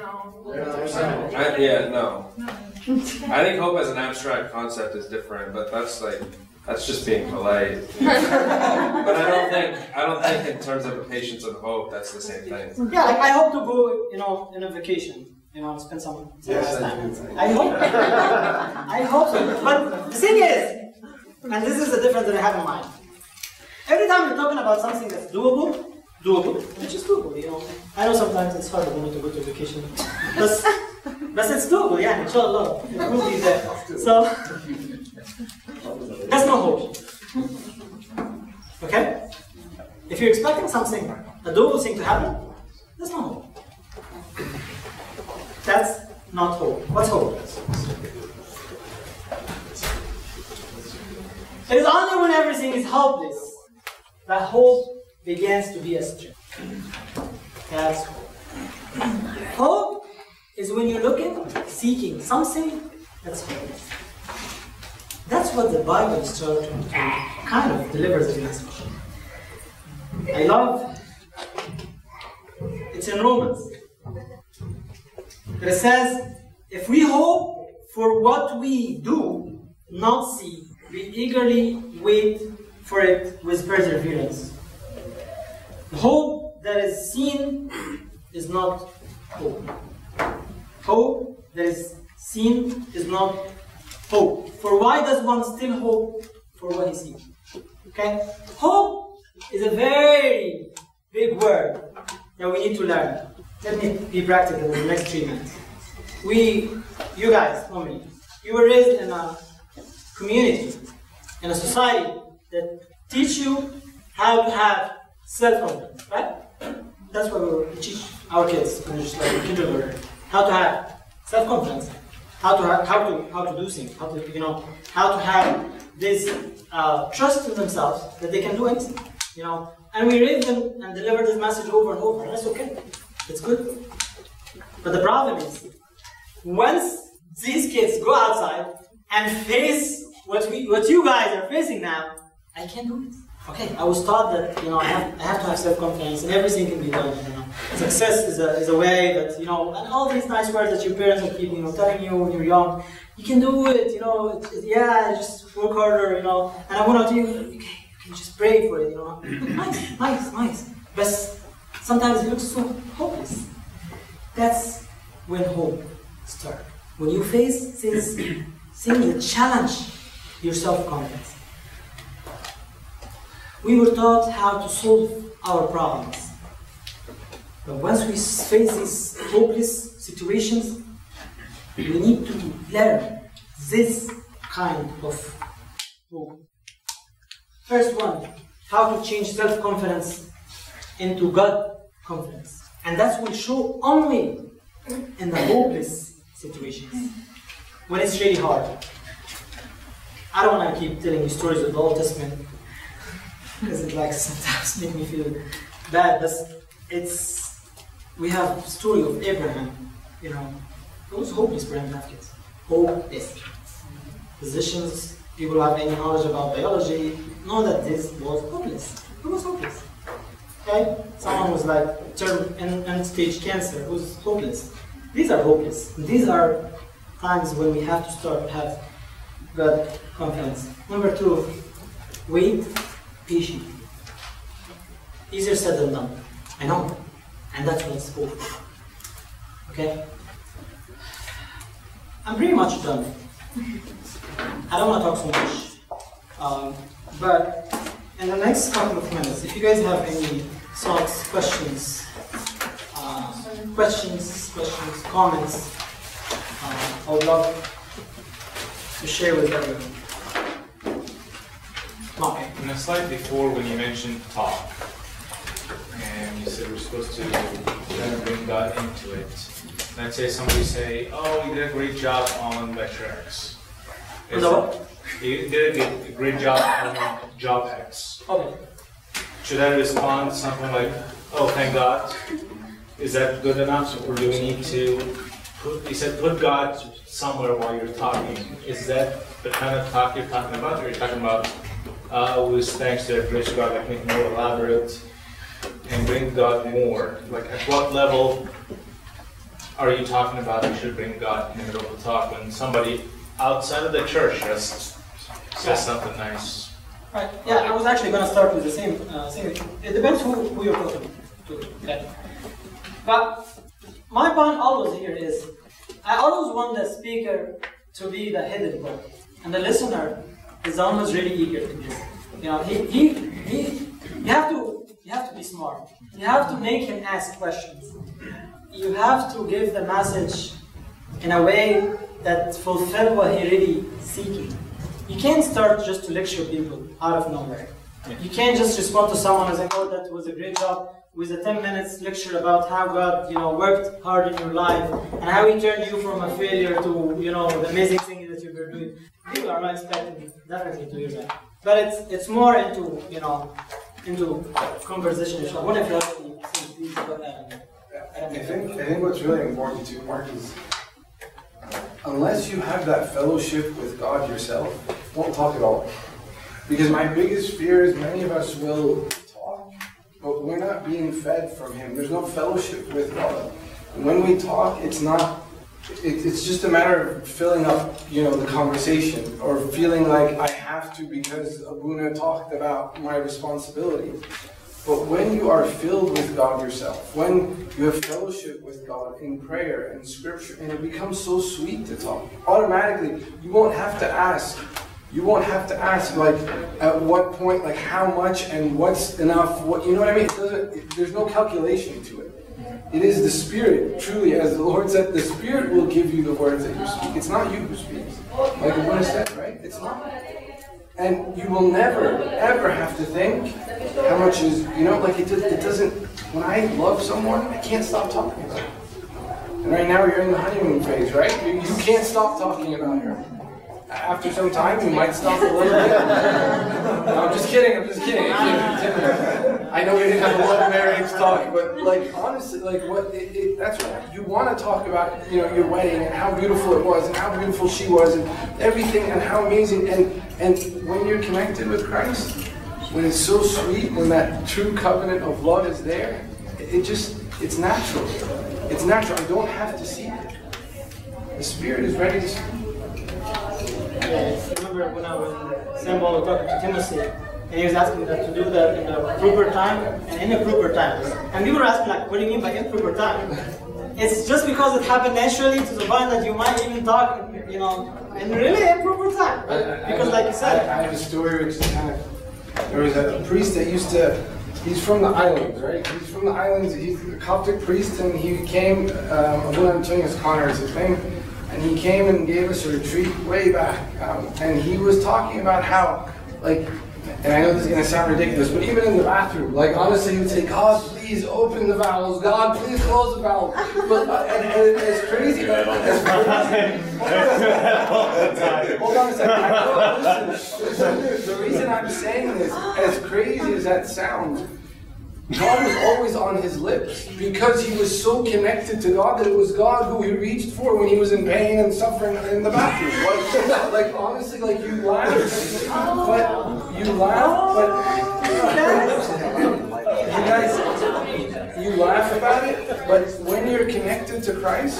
No. I think hope as an abstract concept is different, but that's just being polite. But I don't think in terms of patience and hope that's the same thing. Yeah, like I hope to go, in a vacation, spend some time. I hope so. But the thing is, and this is the difference that I have in mind. Every time you're talking about something that's doable, which is doable, I know sometimes it's hard to go to vacation, but it's doable, inshallah. It will be there. So, that's no hope. If you're expecting something, a double thing to happen, that's not hope. That's not hope. What's hope? It is only when everything is hopeless that hope begins to be a strength. That's hope. Hope is when you're looking, seeking something that's hopeless. That's what the Bible is trying to kind of deliver the message. I love, it's in Romans. It says, if we hope for what we do not see, we eagerly wait for it with perseverance. The hope that is seen is not hope. Hope that is seen is not hope. For why does one still hope for what he sees? Okay? Hope is a very big word that we need to learn. Let me be practical in the next 3 minutes. You guys, normally, you were raised in a community, in a society that teach you how to have self-confidence, right? That's what we teach our kids when they're just like in kindergarten. How to have self-confidence, how to do things, how to have this trust in themselves that they can do anything, And we read them and deliver this message over and over. And that's okay. It's good. But the problem is, once these kids go outside and face what you guys are facing now, I can't do it. Okay, I was taught that I have to have self-confidence and everything can be done. Success is a way that and all these nice words that your parents are keeping telling you when you're young. You can do it. Just work harder. And I want to tell you, okay, you can just pray for it. Nice. But sometimes it looks so hopeless. That's when hope starts. When you face things that challenge your self-confidence. We were taught how to solve our problems. But once we face these hopeless situations, we need to learn this kind of hope. First one, how to change self-confidence into God confidence. And that will show only in the hopeless situations, when it's really hard. I don't want to keep telling you stories of the Old Testament, because it sometimes make me feel bad, but we have the story of Abraham, it was hopeless for him to have kids. Hopeless. Physicians, people who have any knowledge about biology, know that this was hopeless. It was hopeless. Okay? Someone was end-stage cancer, it was hopeless. These are hopeless. These are times when we have to start to have God confidence. Number 2, wait patiently. Easier said than done. I know. And that's what it's for. Okay? I'm pretty much done. I don't want to talk so much. But in the next couple of minutes, if you guys have any thoughts, questions, comments, I would love to share with everyone. Okay. In the slide before, when you mentioned talk, and you said we're supposed to kind of bring God into it. Let's say somebody say, "Oh, you did a great job on lecture X." You did a great job on job X. Okay. Should I respond something like, "Oh, thank God"? Is that good enough, or do we need to put God somewhere while you're talking? Is that the kind of talk you're talking about, or you're talking about with thanks to the grace of God, make it more elaborate and bring God more? At what level are you talking about you should bring God in the middle of the talk when somebody outside of the church just says something nice? Right. Yeah, I was actually going to start with the same thing. It depends who you're talking to. Okay. But my point always here is, I always want the speaker to be the headed part, and the listener is always really eager to hear. You have to be smart. You have to make him ask questions. You have to give the message in a way that fulfills what he really seeking. You can't start just to lecture people out of nowhere. You can't just respond to someone and say, "Oh, that was a great job," with a 10 minutes lecture about how God, worked hard in your life and how He turned you from a failure to, the amazing thing that you were doing. People are not expecting definitely to hear that. But it's more into, into conversation. I wonder if you have anything, please go ahead. I think what's really important too, Mark, is unless you have that fellowship with God yourself, don't talk at all. Because my biggest fear is many of us will talk, but we're not being fed from Him. There's no fellowship with God. And when we talk, it's just a matter of filling up, the conversation, or feeling like I have to because Abuna talked about my responsibility. But when you are filled with God yourself, when you have fellowship with God in prayer and scripture, and it becomes so sweet to talk, automatically, you won't have to ask. You won't have to ask, like, at what point, like, how much and what's enough, you know what I mean? There's no calculation to it. It is the Spirit, truly, as the Lord said, the Spirit will give you the words that you speak. It's not you who speaks. Like Abuna said, right? It's not. And you will never, ever have to think how much is, it doesn't, when I love someone, I can't stop talking about it. And right now you're in the honeymoon phase, right? You can't stop talking about her. After some time, you might stop a little bit. No, I'm just kidding. I know we didn't have a love marriage talk, but honestly, that's what you want to talk about, your wedding and how beautiful it was and how beautiful she was and everything and how amazing. And when you're connected with Christ, when it's so sweet, when that true covenant of love is there, it's natural. It's natural. I don't have to see it. The Spirit is ready to speak. Yeah, I remember when St. Paul was talking to Timothy, and he was asking that to do that in the proper time and in the proper time. And people were asking, what do you mean by improper time? It's just because it happened naturally to the point that you might even talk, in really improper time. Because like you said. I have a story which is there was a priest that he's from the islands, right? He's from the islands, he's a Coptic priest, and he came, Abuna Antoninus Connor is his name, and he came and gave us a retreat way back, and he was talking about how, and I know this is going to sound ridiculous, but even in the bathroom, honestly, he would say, "God, please open the valves. God, please close the valves." But and it's crazy. Hold on a second. Listen, the reason I'm saying this, as crazy as that sounds, God was always on his lips because he was so connected to God that it was God who he reached for when he was in pain and suffering in the bathroom. Honestly, you laugh, you laugh about it, but when you're connected to Christ,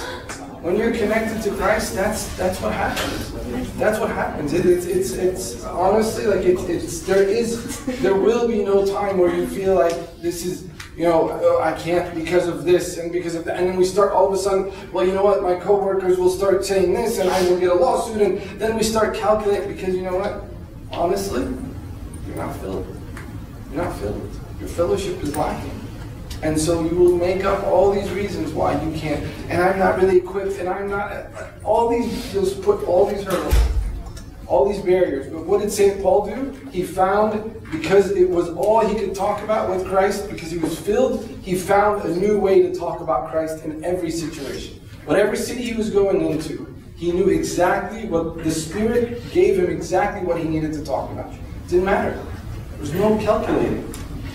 that's what happens. That's what happens. It's honestly there will be no time where you feel like this is, I can't because of this and because of that. And then we start all of a sudden, well, you know what, my coworkers will start saying this and I will get a lawsuit, and then we start calculating because you know what? Honestly, you're not filled. You're not filled. Your fellowship is lacking. And so you will make up all these reasons why you can't. And I'm not really equipped, and I'm not, you'll put all these hurdles, all these barriers. But what did St. Paul do? He found, because it was all he could talk about with Christ, because he was filled, he found a new way to talk about Christ in every situation. Whatever city he was going into, he knew exactly what the Spirit gave him, exactly what he needed to talk about. It didn't matter. There was no calculating.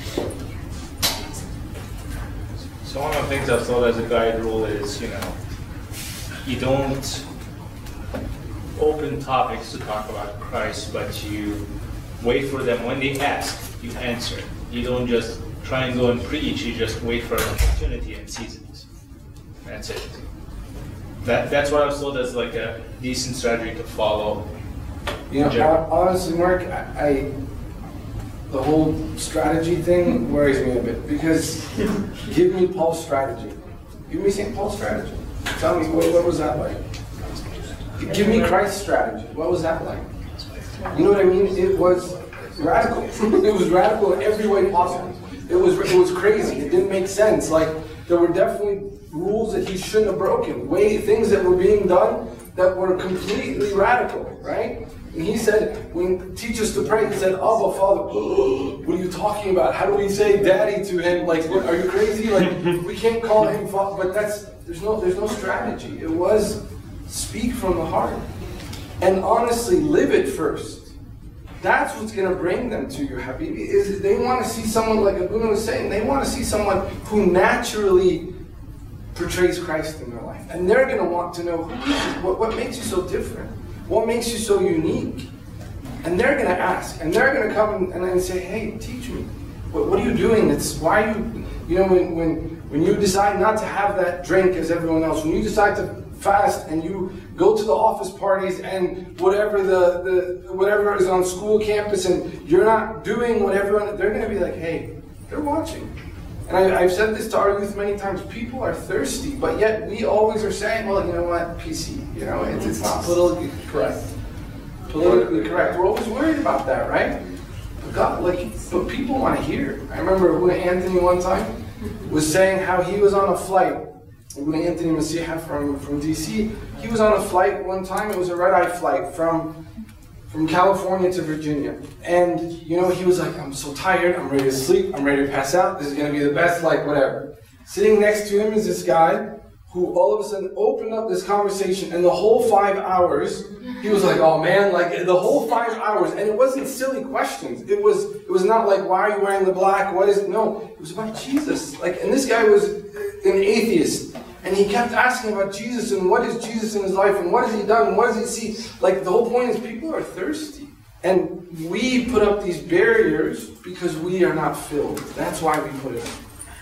So one of the things I've thought as a guide rule is, you don't open topics to talk about Christ, but you wait for them. When they ask, you answer. You don't just try and go and preach, you just wait for an opportunity and seize it. That's it. That's what I was told as a decent strategy to follow. Honestly, Mark, the whole strategy thing worries me a bit, because give me Paul's strategy. Give me St. Paul's strategy. Tell me, what was that like? Give me Christ's strategy. What was that like? You know what I mean? It was radical. It was radical in every way possible. It was crazy. It didn't make sense. There were definitely rules that he shouldn't have broken, things that were being done that were completely radical, right? And he said, when teach us to pray, he said, Abba, Father. What are you talking about? How do we say daddy to him? Like, what, are you crazy? Like, we can't call him Father. But there's no strategy. It was speak from the heart. And honestly, live it first. That's what's going to bring them to you, Habibi. Is they want to see someone, like Abuna was saying, they want to see someone who naturally portrays Christ in their life. And they're going to want to know, what makes you so different? What makes you so unique? And they're going to ask, and they're going to come and say, hey, teach me. What are you doing? Why are you know, when you decide not to have that drink as everyone else, when you decide to fast and you go to the office parties and whatever whatever is on school campus and you're not doing what everyone, they're going to be like, hey, they're watching. And I've said this to our youth many times, people are thirsty, but yet we always are saying, well, you know what, PC, you know, it's not politically correct. Politically correct. We're always worried about that, right? But God, but people want to hear. I remember when Anthony one time was saying how he was on a flight. When Anthony Masiha from DC, he was on a flight one time. It was a red-eye flight from California to Virginia. And, you know, he was like, I'm so tired, I'm ready to sleep, I'm ready to pass out, this is going to be the best flight, whatever. Sitting next to him is this guy who all of a sudden opened up this conversation, and the whole 5 hours, he was like, oh man, like the whole 5 hours, and it wasn't silly questions. It was not like, why are you wearing the black, no, it was about Jesus. And this guy was an atheist. And he kept asking about Jesus and what is Jesus in his life and what has he done and what does he see. Like the whole point is people are thirsty. And we put up these barriers because we are not filled. That's why we put it up.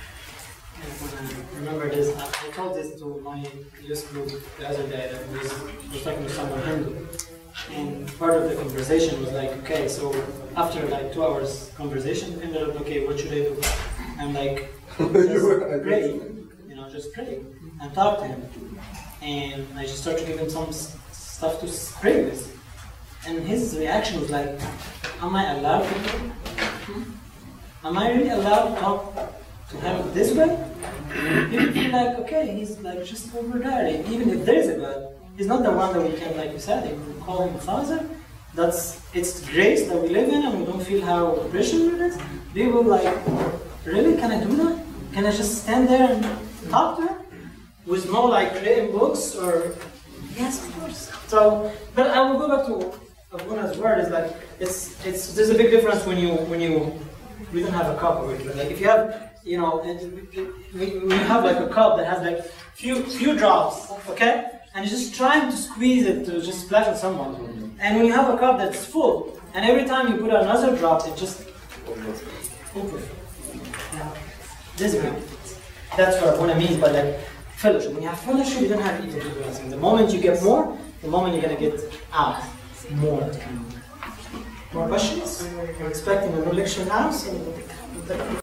I remember this, I told this to my youth group the other day that was talking to someone Hindu. And part of the conversation was like, okay, so after like 2 hours conversation, we ended up, okay, what should I do? I'm like, just pray. Just pray and talk to him. And I just started to give him some stuff to pray with. And his reaction was like, am I allowed to pray? Am I really allowed to talk to him this way? People feel like, okay, he's like just over there. Even if there is a God, he's not the one that we can, like you said, we can call him Father. It's grace that we live in and we don't feel how precious it is. People like, really? Can I do that? Can I just stand there and talk to him with no like reading books or yes, of course. So, but I will go back to Abuna's word. Is like there's a big difference when we don't have a cup over here. Like if you have, you know, when you have like a cup that has like few drops, okay, and you're just trying to squeeze it to just splash on someone, and when you have a cup that's full, and every time you put another drop, it just over. Yeah. This is that's what Abuna means by like fellowship. When you have fellowship, you don't have even to do anything. The moment you get more, the moment you're gonna get out more. More questions? We're expecting a new lecture now, so